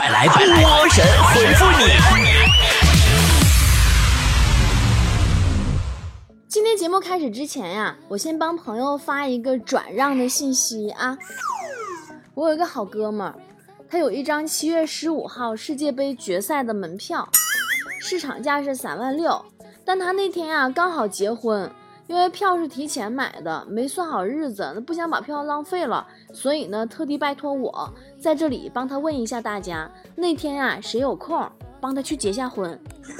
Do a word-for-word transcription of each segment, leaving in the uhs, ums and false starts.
来波神回复你。 今天节目开始之前呀，我先帮朋友发一个转让的信息啊。我有一个好哥们儿，他有一张七月十五号世界杯决赛的门票，市场价是三万六，但他那天啊刚好结婚，因为票是提前买的，没算好日子，不想把票浪费了，所以呢特地拜托我在这里帮他问一下大家，那天啊谁有空帮他去结下婚。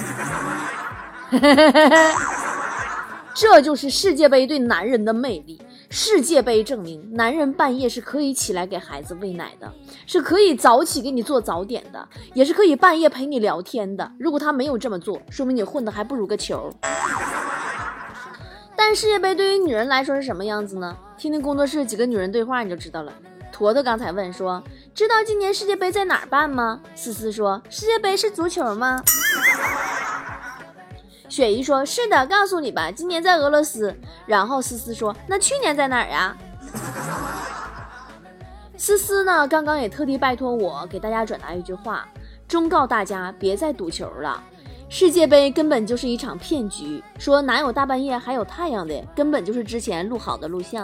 这就是世界杯对男人的魅力。世界杯证明男人半夜是可以起来给孩子喂奶的，是可以早起给你做早点的，也是可以半夜陪你聊天的。如果他没有这么做，说明你混的还不如个球。但世界杯对于女人来说是什么样子呢？听听工作室几个女人对话你就知道了。坨坨刚才问说，知道今年世界杯在哪儿办吗？思思说，世界杯是足球吗？雪姨说，是的，告诉你吧，今年在俄罗斯。然后思思说，那去年在哪儿呀？思思呢刚刚也特地拜托我给大家转达一句话，忠告大家别再赌球了，世界杯根本就是一场骗局，说哪有大半夜还有太阳的，根本就是之前录好的录像。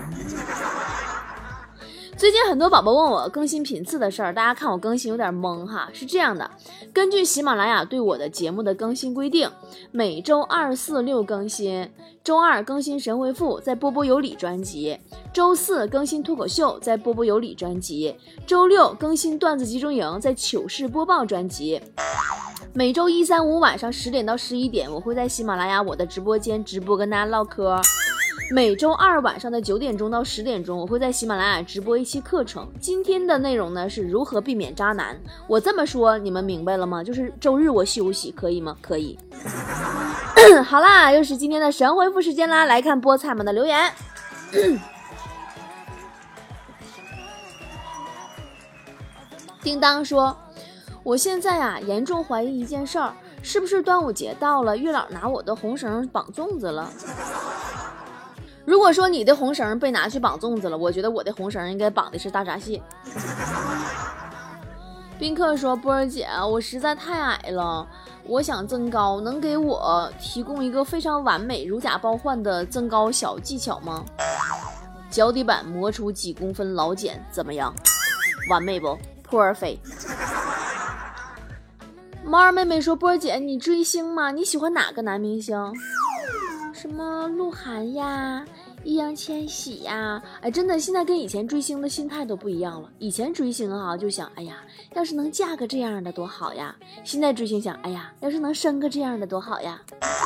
最近很多宝宝问我更新频次的事儿，大家看我更新有点懵哈。是这样的，根据喜马拉雅对我的节目的更新规定，每周二四六更新，周二更新神回复在波波有理专辑，周四更新脱口秀在波波有理专辑，周六更新段子集中营在糗事播报专辑。每周一三五晚上十点到十一点，我会在喜马拉雅我的直播间直播跟大家唠嗑。每周二晚上的九点钟到十点钟，我会在喜马拉雅直播一期课程。今天的内容呢是如何避免渣男。我这么说你们明白了吗？就是周日我休息，可以吗？可以。好啦，又是今天的神回复时间啦，来看菠菜们的留言。叮当说，我现在啊严重怀疑一件事儿，是不是端午节到了，月老拿我的红绳绑粽子了？如果说你的红绳被拿去绑粽子了，我觉得我的红绳应该绑的是大闸蟹。宾客说，波儿姐，我实在太矮了，我想增高，能给我提供一个非常完美如假包换的增高小技巧吗？脚底板磨出几公分老茧怎么样？完美不？波儿飞。猫儿妹妹说，波儿姐，你追星吗？你喜欢哪个男明星？什么鹿晗呀，易烊千玺呀，哎，真的现在跟以前追星的心态都不一样了。以前追星啊就想，哎呀，要是能嫁个这样的多好呀。现在追星想，哎呀，要是能生个这样的多好呀。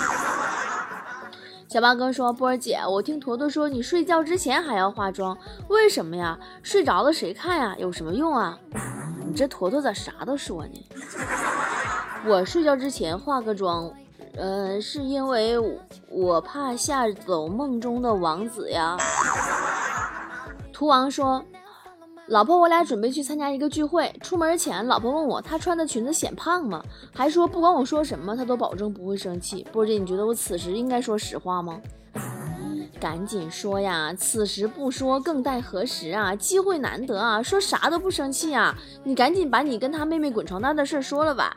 小八哥说，波儿姐，我听坨坨说你睡觉之前还要化妆，为什么呀？睡着了谁看呀？有什么用啊？你这坨坨咋啥都说呢？我睡觉之前化个妆，呃，是因为我怕吓走梦中的王子呀。图王说，老婆我俩准备去参加一个聚会，出门前老婆问我她穿的裙子显胖吗，还说不管我说什么她都保证不会生气。波姐，你觉得我此时应该说实话吗？赶紧说呀，此时不说更待何时啊，机会难得啊，说啥都不生气啊，你赶紧把你跟他妹妹滚床单的事说了吧。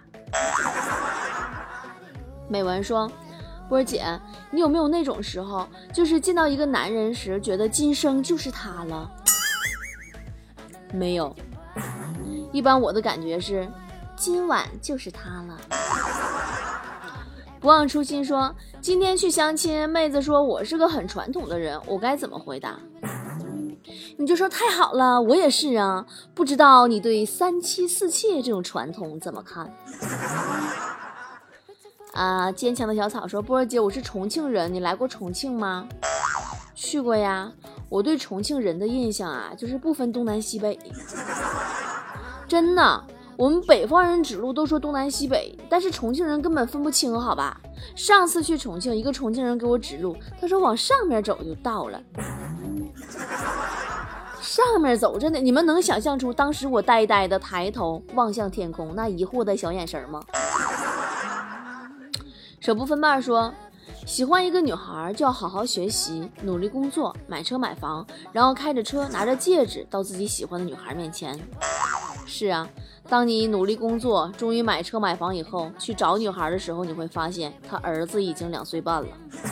美文说，波姐，你有没有那种时候，就是见到一个男人时觉得今生就是他了？没有，一般我的感觉是今晚就是他了。不忘初心说，今天去相亲，妹子说我是个很传统的人，我该怎么回答？你就说太好了，我也是啊，不知道你对三妻四妾这种传统怎么看？啊，坚强的小草说，波儿姐，我是重庆人，你来过重庆吗？去过呀，我对重庆人的印象啊，就是不分东南西北。真的，我们北方人指路都说东南西北，但是重庆人根本分不清，好吧？上次去重庆，一个重庆人给我指路，他说往上面走就到了。上面走，真的，你们能想象出当时我呆呆的抬头望向天空那疑惑的小眼神吗？手不分瓣说，喜欢一个女孩就要好好学习，努力工作，买车买房，然后开着车拿着戒指到自己喜欢的女孩面前。 是啊，当你努力工作，终于买车买房以后，去找女孩的时候，你会发现他儿子已经两岁半了。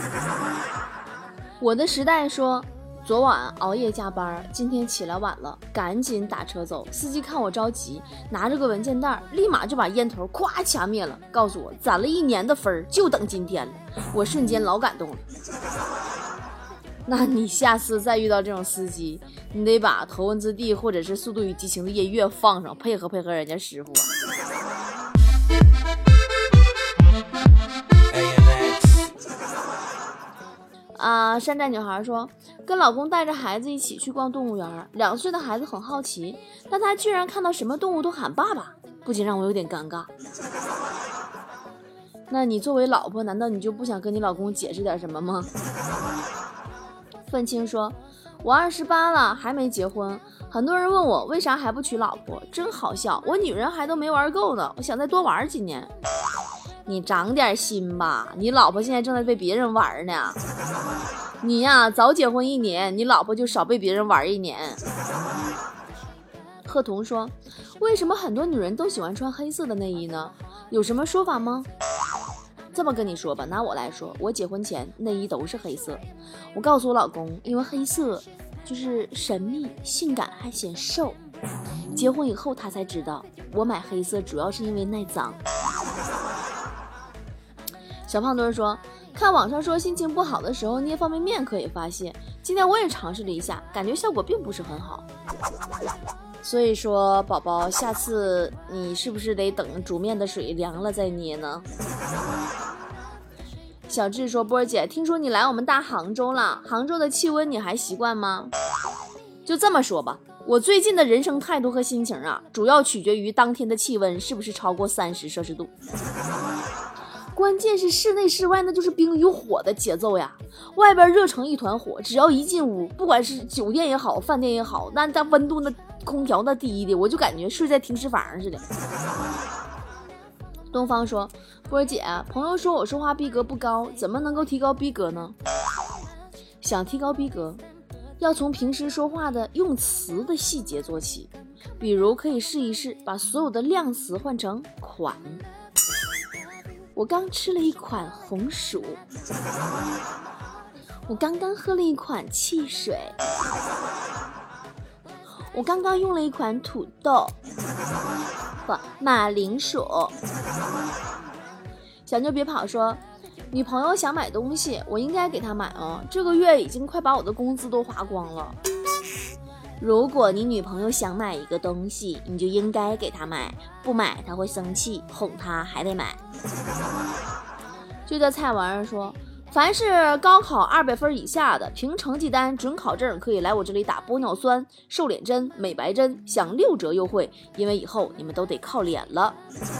我的时代说，昨晚熬夜加班，今天起来晚了，赶紧打车走。司机看我着急，拿着个文件袋，立马就把烟头咵掐灭了，告诉我攒了一年的分就等今天了。我瞬间老感动了。那你下次再遇到这种司机，你得把头文字 D 或者是速度与激情的音乐放上，配合配合人家师傅啊。啊，山寨女孩说，跟老公带着孩子一起去逛动物园，两岁的孩子很好奇，但他居然看到什么动物都喊爸爸，不仅让我有点尴尬。那你作为老婆，难道你就不想跟你老公解释点什么吗？愤青说，我二十八了还没结婚，很多人问我为啥还不娶老婆，真好笑，我女人还都没玩够呢，我想再多玩几年。你长点心吧，你老婆现在正在被别人玩呢。你呀，早结婚一年，你老婆就少被别人玩一年。贺彤说，为什么很多女人都喜欢穿黑色的内衣呢？有什么说法吗？这么跟你说吧，拿我来说，我结婚前内衣都是黑色。我告诉我老公，因为黑色就是神秘、性感还显瘦。结婚以后他才知道，我买黑色主要是因为耐脏。小胖墩说，看网上说心情不好的时候捏方便面可以发泄，今天我也尝试了一下，感觉效果并不是很好。所以说宝宝，下次你是不是得等煮面的水凉了再捏呢？小智说，波儿姐，听说你来我们大杭州了，杭州的气温你还习惯吗？就这么说吧，我最近的人生态度和心情啊，主要取决于当天的气温是不是超过三十摄氏度。关键是室内室外那就是冰与火的节奏呀，外边热成一团火，只要一进屋，不管是酒店也好饭店也好，那它温度那空调那低的，我就感觉睡在停尸房似的。东方说，波儿姐，朋友说我说话逼格不高，怎么能够提高逼格呢？想提高逼格，要从平时说话的用词的细节做起，比如可以试一试把所有的量词换成款。我刚吃了一款红薯，我刚刚喝了一款汽水，我刚刚用了一款土豆和马铃薯。小妞别跑说，女朋友想买东西，我应该给她买吗？这个月已经快把我的工资都花光了。如果你女朋友想买一个东西，你就应该给她买，不买她会生气，哄她还得买。就在菜玩意儿说，凡是高考二百分以下的，凭成绩单准考证可以来我这里打玻尿酸、瘦脸针、美白针，享六折优惠，因为以后你们都得靠脸了。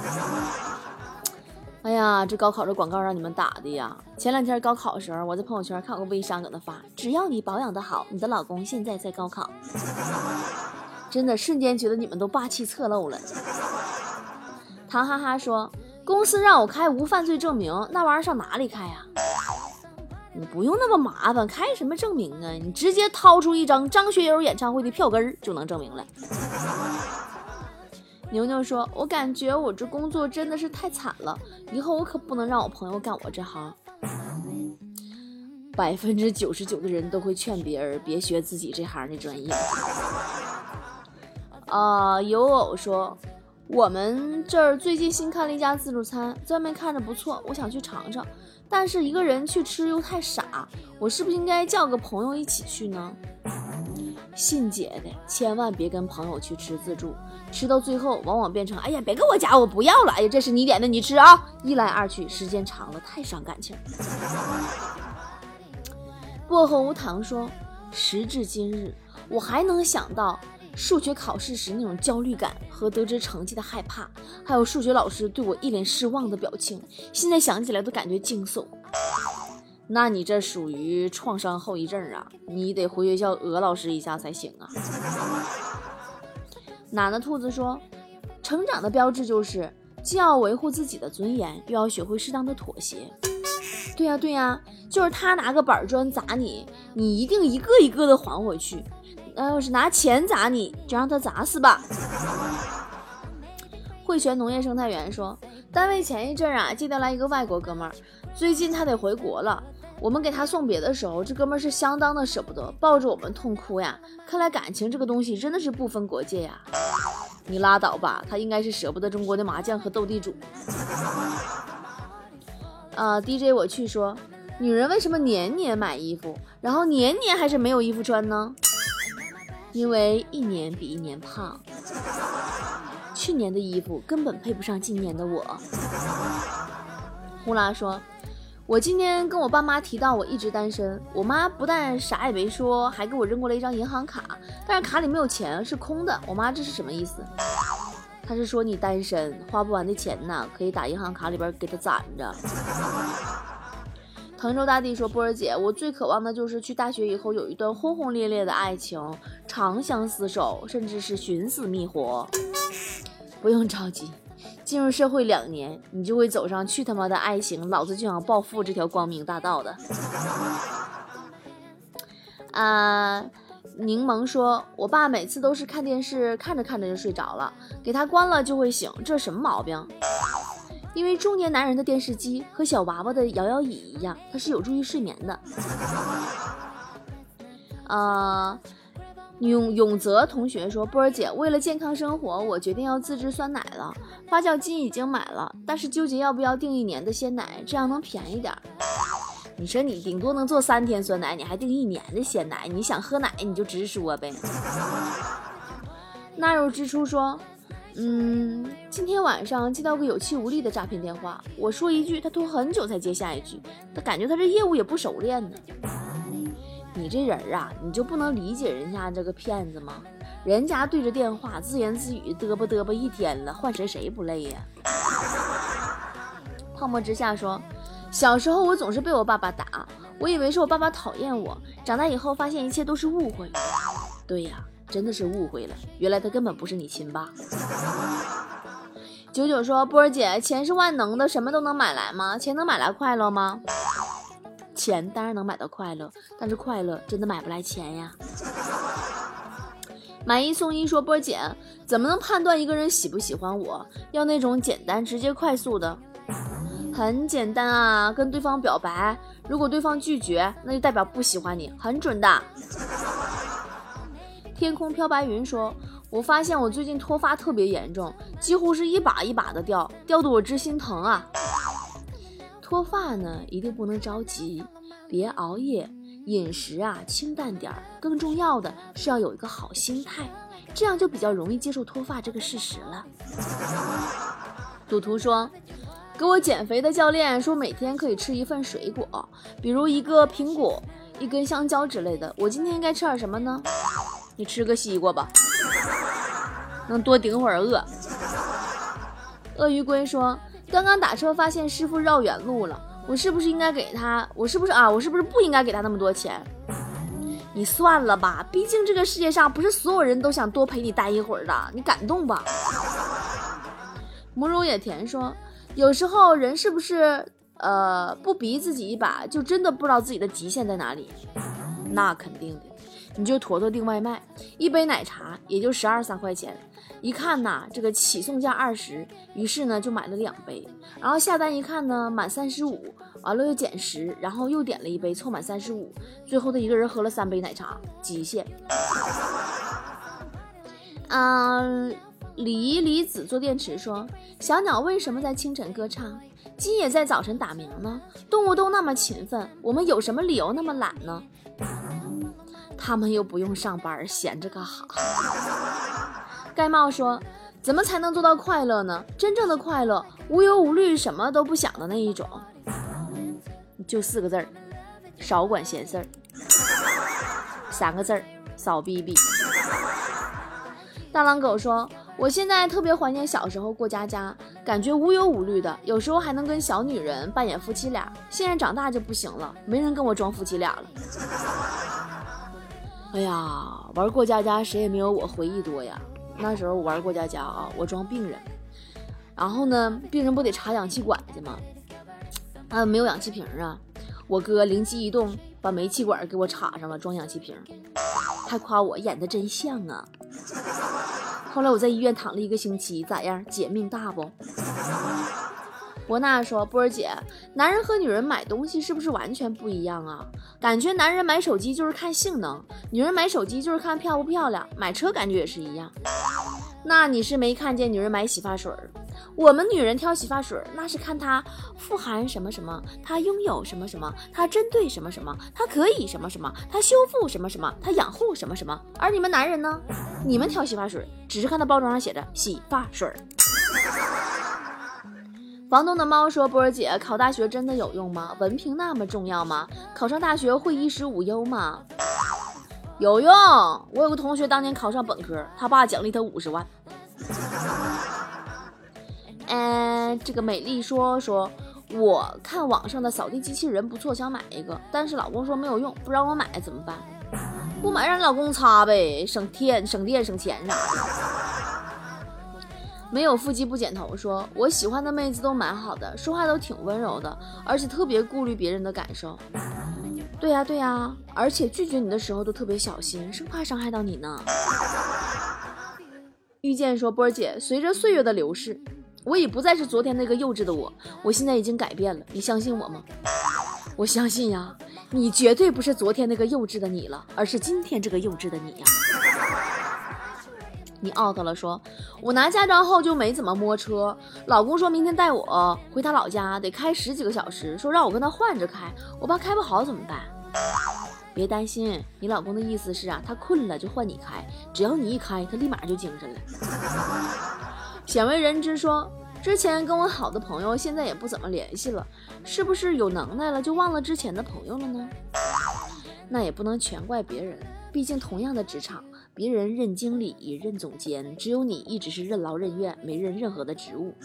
哎呀，这高考这广告让你们打的呀！前两天高考的时候，我在朋友圈看过微商搁那发，只要你保养得好，你的老公现在在高考。真的瞬间觉得你们都霸气侧漏了。唐哈哈说，公司让我开无犯罪证明，那玩意儿上哪里开啊？你不用那么麻烦，开什么证明啊？你直接掏出一张张学友演唱会的票根就能证明了。牛牛说，我感觉我这工作真的是太惨了，以后我可不能让我朋友干我这行。百分之九十九的人都会劝别人别学自己这行的专业。啊、呃，有偶说，我们这儿最近新开了一家自助餐，在外面看着不错，我想去尝尝，但是一个人去吃又太傻，我是不是应该叫个朋友一起去呢？信姐的，千万别跟朋友去吃自助，吃到最后往往变成，哎呀别跟我夹，我不要了，哎呀这是你点的你吃啊，一来二去时间长了太伤感情。薄荷无糖说，时至今日我还能想到数学考试时那种焦虑感和得知成绩的害怕，还有数学老师对我一脸失望的表情，现在想起来都感觉惊悚。那你这属于创伤后遗症啊，你得回学校讹老师一下才行啊。奶奶兔子说，成长的标志就是既要维护自己的尊严，又要学会适当的妥协。对呀、啊、对呀、啊，就是他拿个板砖砸你，你一定一个一个的还回去，那要是拿钱砸你，就让他砸死吧。 汇泉农业生态园说，单位前一阵啊接调来一个外国哥们儿，最近他得回国了。我们给他送别的时候，这哥们儿是相当的舍不得，抱着我们痛哭呀。看来感情这个东西真的是不分国界呀。你拉倒吧，他应该是舍不得中国的麻将和斗地主。呃 D J 我去说，女人为什么年年买衣服，然后年年还是没有衣服穿呢？因为一年比一年胖，去年的衣服根本配不上今年的我。呼啦说，我今天跟我爸妈提到我一直单身，我妈不但啥也没说，还给我扔过来一张银行卡，但是卡里没有钱，是空的。我妈这是什么意思？她是说你单身花不完的钱呢，可以打银行卡里边给她攒着。滕州大地说，波儿姐，我最渴望的就是去大学以后有一段轰轰烈烈的爱情，长相厮守，甚至是寻死觅活。不用着急，进入社会两年，你就会走上去他妈的爱情，老子就想暴富这条光明大道的。啊、呃，柠檬说，我爸每次都是看电视看着看着就睡着了，给他关了就会醒，这是什么毛病？因为中年男人的电视机和小娃娃的摇摇椅一样，它是有助于睡眠的。呃永永泽同学说，波儿姐，为了健康生活，我决定要自制酸奶了。发酵机已经买了，但是纠结要不要订一年的鲜奶，这样能便宜点。你说你顶多能做三天酸奶，你还订一年的鲜奶？你想喝奶你就直说呗。纳入之初说，嗯，今天晚上接到个有气无力的诈骗电话，我说一句，他拖很久才接下一句，他感觉他这业务也不熟练呢。你这人啊，你就不能理解人家这个骗子吗？人家对着电话自言自语嘚啵嘚啵一天了，换谁谁不累呀？泡沫之下说，小时候我总是被我爸爸打，我以为是我爸爸讨厌我，长大以后发现一切都是误会。对呀，真的是误会了，原来他根本不是你亲爸。九九说，波儿姐，钱是万能的，什么都能买来吗？钱能买来快乐吗？钱当然能买到快乐，但是快乐真的买不来钱呀。买一送一说，波儿姐，怎么能判断一个人喜不喜欢我？要那种简单直接快速的。很简单啊，跟对方表白，如果对方拒绝，那就代表不喜欢你，很准的。天空飘白云说，我发现我最近脱发特别严重，几乎是一把一把的掉，掉得我直心疼啊。脱发呢，一定不能着急，别熬夜，饮食啊清淡点儿，更重要的是要有一个好心态，这样就比较容易接受脱发这个事实了。赌徒说，给我减肥的教练说每天可以吃一份水果，比如一个苹果，一根香蕉之类的，我今天应该吃点什么呢？你吃个西瓜吧，能多顶会儿饿。鳄鱼龟说，刚刚打车发现师傅绕远路了，我是不是应该给他我是不是啊我是不是不应该给他那么多钱？你算了吧，毕竟这个世界上不是所有人都想多陪你待一会儿的，你感动吧。母乳也甜说，有时候人是不是呃不逼自己一把，就真的不知道自己的极限在哪里？那肯定的，你就坨坨订外卖，一杯奶茶也就十二三块钱，一看呐，这个起送价二十，于是呢就买了两杯，然后下单一看呢满三十五，完了又减十，然后又点了一杯，凑满三十五，最后的一个人喝了三杯奶茶，极限。嗯、呃，李离子做电池说，小鸟为什么在清晨歌唱？鸡也在早晨打鸣呢。动物都那么勤奋，我们有什么理由那么懒呢？他们又不用上班，闲着干哈？盖帽说，怎么才能做到快乐呢？真正的快乐，无忧无虑，什么都不想的那一种。就四个字儿，少管闲事儿。三个字儿，少逼逼。大狼狗说，我现在特别怀念小时候过家家，感觉无忧无虑的，有时候还能跟小女人扮演夫妻俩。现在长大就不行了，没人跟我装夫妻俩了。哎呀，玩过家家谁也没有我回忆多呀。那时候我玩过家家啊，我装病人，然后呢，病人不得插氧气管子吗？啊，没有氧气瓶啊，我哥灵机一动，把煤气管给我插上了，装氧气瓶。还夸我演的真像啊。 后来我在医院躺了一个星期，咋样？姐命大不？伯娜说，波儿姐，男人和女人买东西是不是完全不一样啊？感觉男人买手机就是看性能，女人买手机就是看漂不漂亮，买车感觉也是一样。那你是没看见女人买洗发水，我们女人挑洗发水那是看它富含什么什么，它拥有什么什么，它针对什么什么，它可以什么什么，它修复什么什么，它养护什么什么。而你们男人呢？你们挑洗发水只是看它包装上写着洗发水。房东的猫说，波儿姐，考大学真的有用吗？文凭那么重要吗？考上大学会衣食无忧吗？有用，我有个同学当年考上本科，他爸奖励他五十万。嗯，这个美丽说说，我看网上的扫地机器人不错，想买一个，但是老公说没有用，不让我买怎么办？不买让老公擦呗，省电省电省钱啥的。没有腹肌不剪头说，我喜欢的妹子都蛮好的，说话都挺温柔的，而且特别顾虑别人的感受。对呀对呀，而且拒绝你的时候都特别小心，生怕伤害到你呢。遇见说，波儿姐，随着岁月的流逝，我已不再是昨天那个幼稚的我，我现在已经改变了，你相信我吗？我相信呀，你绝对不是昨天那个幼稚的你了，而是今天这个幼稚的你呀。你 out 了说，我拿驾照后就没怎么摸车，老公说明天带我回他老家得开十几个小时，说让我跟他换着开，我怕开不好怎么办？别担心，你老公的意思是啊，他困了就换你开，只要你一开他立马就精神了。鲜为人知说，之前跟我好的朋友现在也不怎么联系了，是不是有能耐了就忘了之前的朋友了呢？那也不能全怪别人，毕竟同样的职场，别人任经理任总监，只有你一直是任劳任怨，没任任何的职务。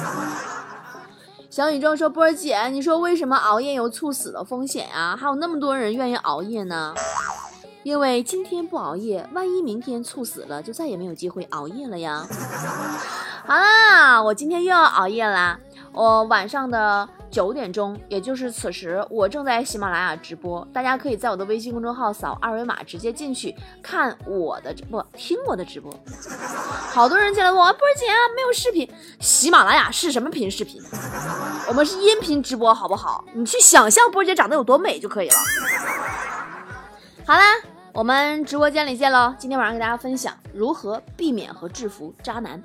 小宇宙说，波儿姐，你说为什么熬夜有猝死的风险啊？还有那么多人愿意熬夜呢？因为今天不熬夜，万一明天猝死了，就再也没有机会熬夜了呀。好啦，我今天又要熬夜啦。我晚上的九点钟，也就是此时，我正在喜马拉雅直播，大家可以在我的微信公众号扫二维码直接进去看我的直播，听我的直播。好多人进来问我，波儿姐啊，没有视频，喜马拉雅是什么频视频？我们是音频直播，好不好？你去想象波儿姐长得有多美就可以了。好啦，我们直播间里见喽！今天晚上给大家分享如何避免和制服渣男。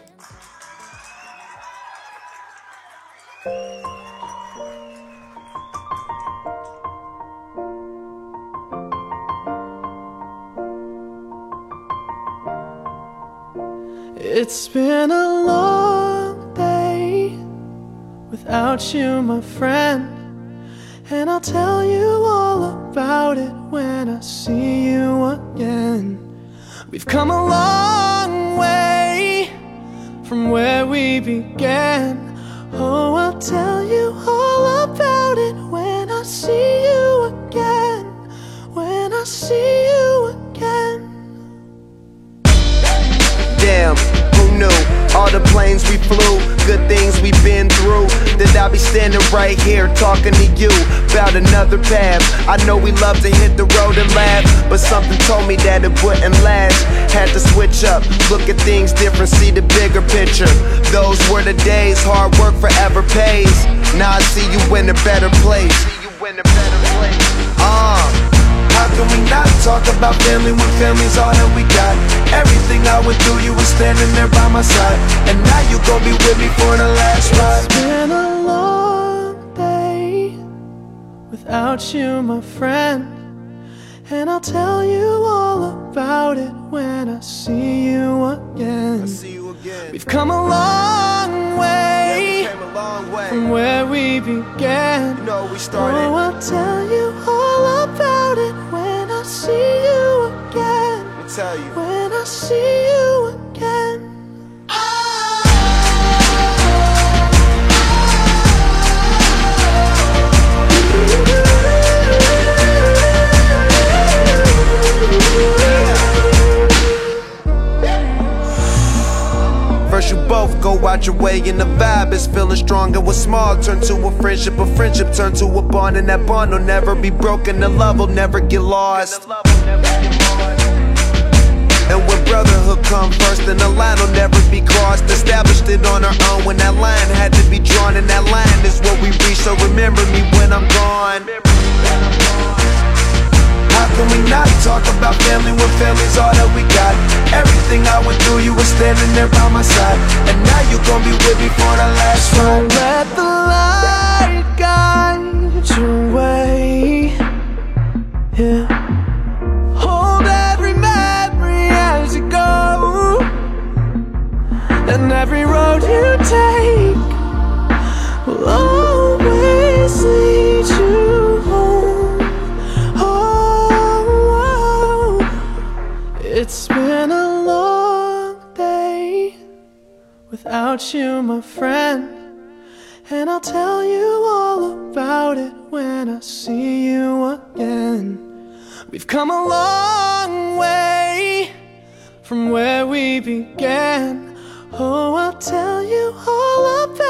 It's been a long day without you, my friend, and I'll tell you all about it when I see you again. We've come a long way from where we began. Oh, I'll tell you all about it when I see you again. When I see you again. Damn, who knew? All the planes we flew, good things we've been through. That I'll be standing right here talking to you about another path. I know we love to hit the road and laugh, but something told me that it wouldn't last. Had to switch up, look at things different, see the bigger picture. Those were the days, hard work forever pays. Now I see you in a better place. See you in a better place. Uh How can we not talk about family when family's all that we got? Everything I went through, you were standing there by my side, and now you gon' be with me for the last ride. It's been a long day without you, my friend, and I'll tell you all about it when I see you again. I see you again. We've come a long way, yeah, we came a long way from where we began. You know we started. Oh, I'll tell you all about it when I see you again. Let me tell you. When I see you again. First you both go out your way and the vibe is feeling strong, and what's small turn to a friendship, a friendship turn to a bond, and that bond will never be broken, the love will never get lost. And when brotherhood come first, and the line will never be crossed. Established it on our own when that line had to be drawn, and that line is what we reach. So remember me when I'm gone. How can we not talk about family when family's all that we got? Everything I went through, you were standing there by my side, and now you gon' be with me for the last ride. So let the light guide your way. Yeah. Hold every memory as you go, and every road you take will always lead you home. Oh, it's been a long day without you, my friend, and I'll tell you all about it when I see you again. We've come a long way from where we began. Oh, I'll tell you all about it